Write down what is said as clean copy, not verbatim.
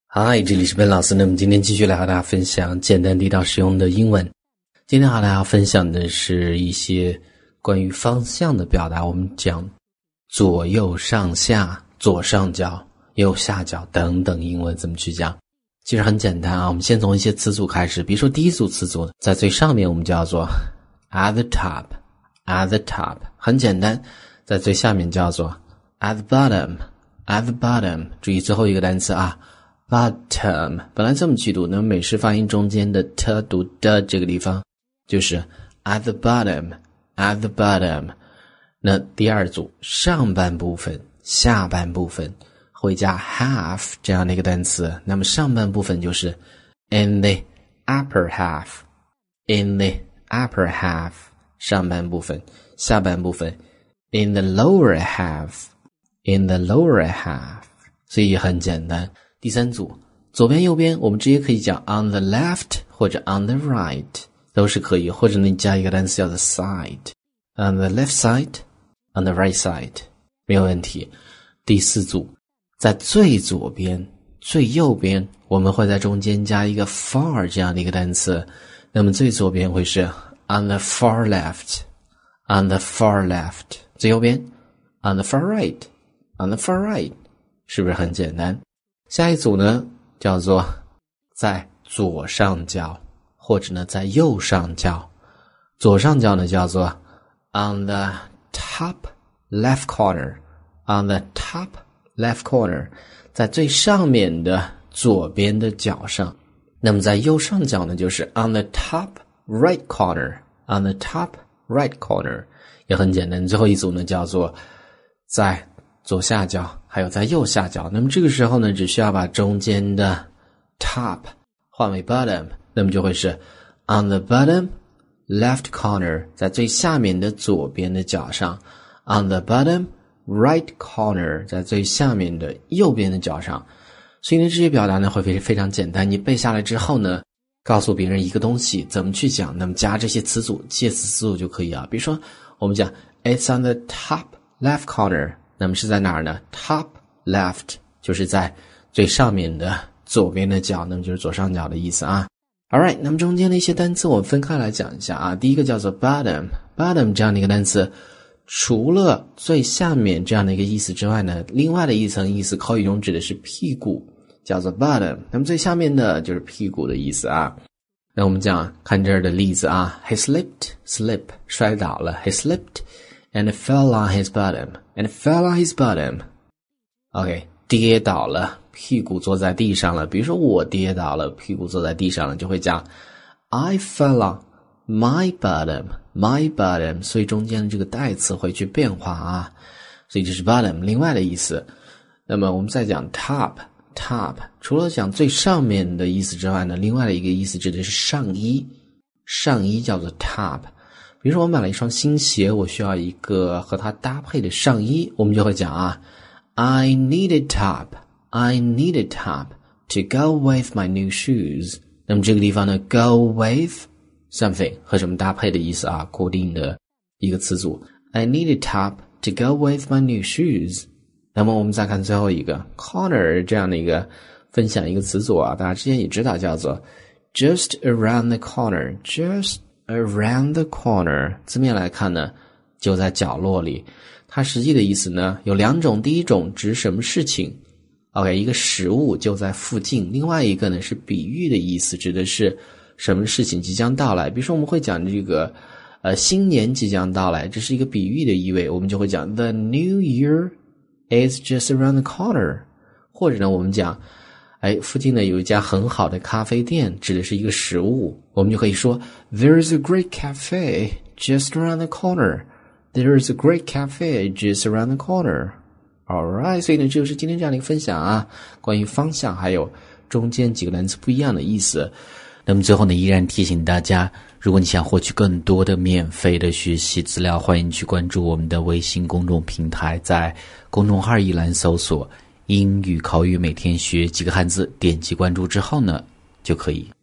嗨，这里是Ben老师。那么今天继续来和大家分享简单地道实用的英文。今天和大家分享的是一些关于方向的表达，我们讲左右上下、左上角、右下角等等英文怎么去讲。其实很简单啊，我们先从一些词组开始。比如说第一组词组在最上面我们叫做 at the top， at the top 很简单，在最下面叫做 at the bottom， at the bottom。 注意最后一个单词啊，bottom 本来这么去读，那么美式发音中间的 t 读的这个地方就是 at the bottom， at the bottom。 那第二组上半部分、下半部分会加 half 这样的一个单词，那么上半部分就是 in the upper half， in the upper half 上半部分，下半部分 in the lower half， in the lower half。 所以很简单。第三组左边右边我们直接可以讲 on the left 或者 on the right 都是可以，或者你加一个单词叫做 side， on the left side on the right side 没有问题。第四组在最左边最右边我们会在中间加一个 far 这样的一个单词，那么最左边会是 on the far left， on the far left， 最右边 on the far right， on the far right， 是不是很简单？下一组呢叫做在左上角或者呢在右上角，左上角呢叫做 on the top left corner， on the top left corner 在最上面的左边的角上，那么在右上角呢就是 on the top right corner， on the top right corner 也很简单。最后一组呢叫做在左下角还有在右下角，那么这个时候呢只需要把中间的 top 换为 bottom， 那么就会是 on the bottom left corner 在最下面的左边的角上， on the bottom right corner 在最下面的右边的角上。所以呢这些表达呢会非常简单，你背下来之后呢告诉别人一个东西怎么去讲，那么加这些词组介词词组就可以啊。比如说我们讲 it's on the top left corner，那么是在哪儿呢？ top left 就是在最上面的左边的角，那么就是左上角的意思啊。Alright， 那么中间的一些单词我们分开来讲一下啊。第一个叫做 bottom， bottom 这样的一个单词，除了最下面这样的一个意思之外呢，另外的一层意思口语中指的是屁股，叫做 bottom， 那么最下面的就是屁股的意思啊。那我们讲看这儿的例子啊， he slip 摔倒了， he slipped and fell on his bottom， and fell on his bottom。 OK， 跌倒了，屁股坐在地上了。比如说我跌倒了，屁股坐在地上了，就会讲 I fell on my bottom， my bottom， 所以中间的这个代词会去变化啊，所以这是 bottom 另外的意思。那么我们再讲 top， 除了讲最上面的意思之外呢，另外的一个意思指的是上衣，上衣叫做 top。比如说我买了一双新鞋，我需要一个和它搭配的上衣，我们就会讲啊 I need a top to go with my new shoes。 那么这个地方呢 go with something 和什么搭配的意思啊，固定的一个词组 I need a top to go with my new shoes。 那么我们再看最后一个 corner 这样的一个分享一个词组啊，大家之前也知道叫做 just around the corner， just around the corner 字面来看呢就在角落里，它实际的意思呢有两种，第一种指什么事情 OK， 一个食物就在附近，另外一个呢是比喻的意思，指的是什么事情即将到来。比如说我们会讲这个新年即将到来，这是一个比喻的意味，我们就会讲 The new year is just around the corner。 或者呢我们讲附近呢有一家很好的咖啡店，指的是一个食物，我们就可以说 There's a great cafe just around the corner， There's a great cafe just around the corner。 Alright， 所以呢这就是今天这样的一个分享啊，关于方向还有中间几个单词不一样的意思。那么最后呢依然提醒大家，如果你想获取更多的免费的学习资料，欢迎去关注我们的微信公众平台，在公众号一栏搜索英语口语每天学几个汉字，点击关注之后呢就可以